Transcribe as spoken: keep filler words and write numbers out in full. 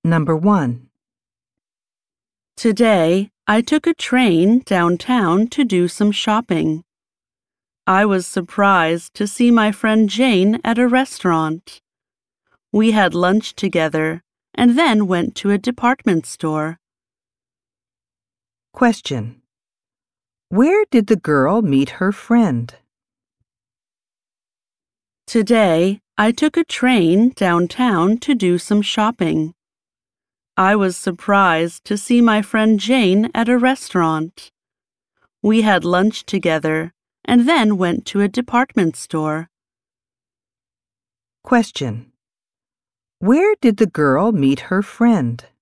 Number one. Today, I took a train downtown to do some shopping. I was surprised to see my friend Jane at a restaurant. We had lunch together and then went to a department store. Question. Where did the girl meet her friend? Today, I took a train downtown to do some shopping. I was surprised to see my friend Jane at a restaurant. We had lunch together and then went to a department store. Question. Where did the girl meet her friend?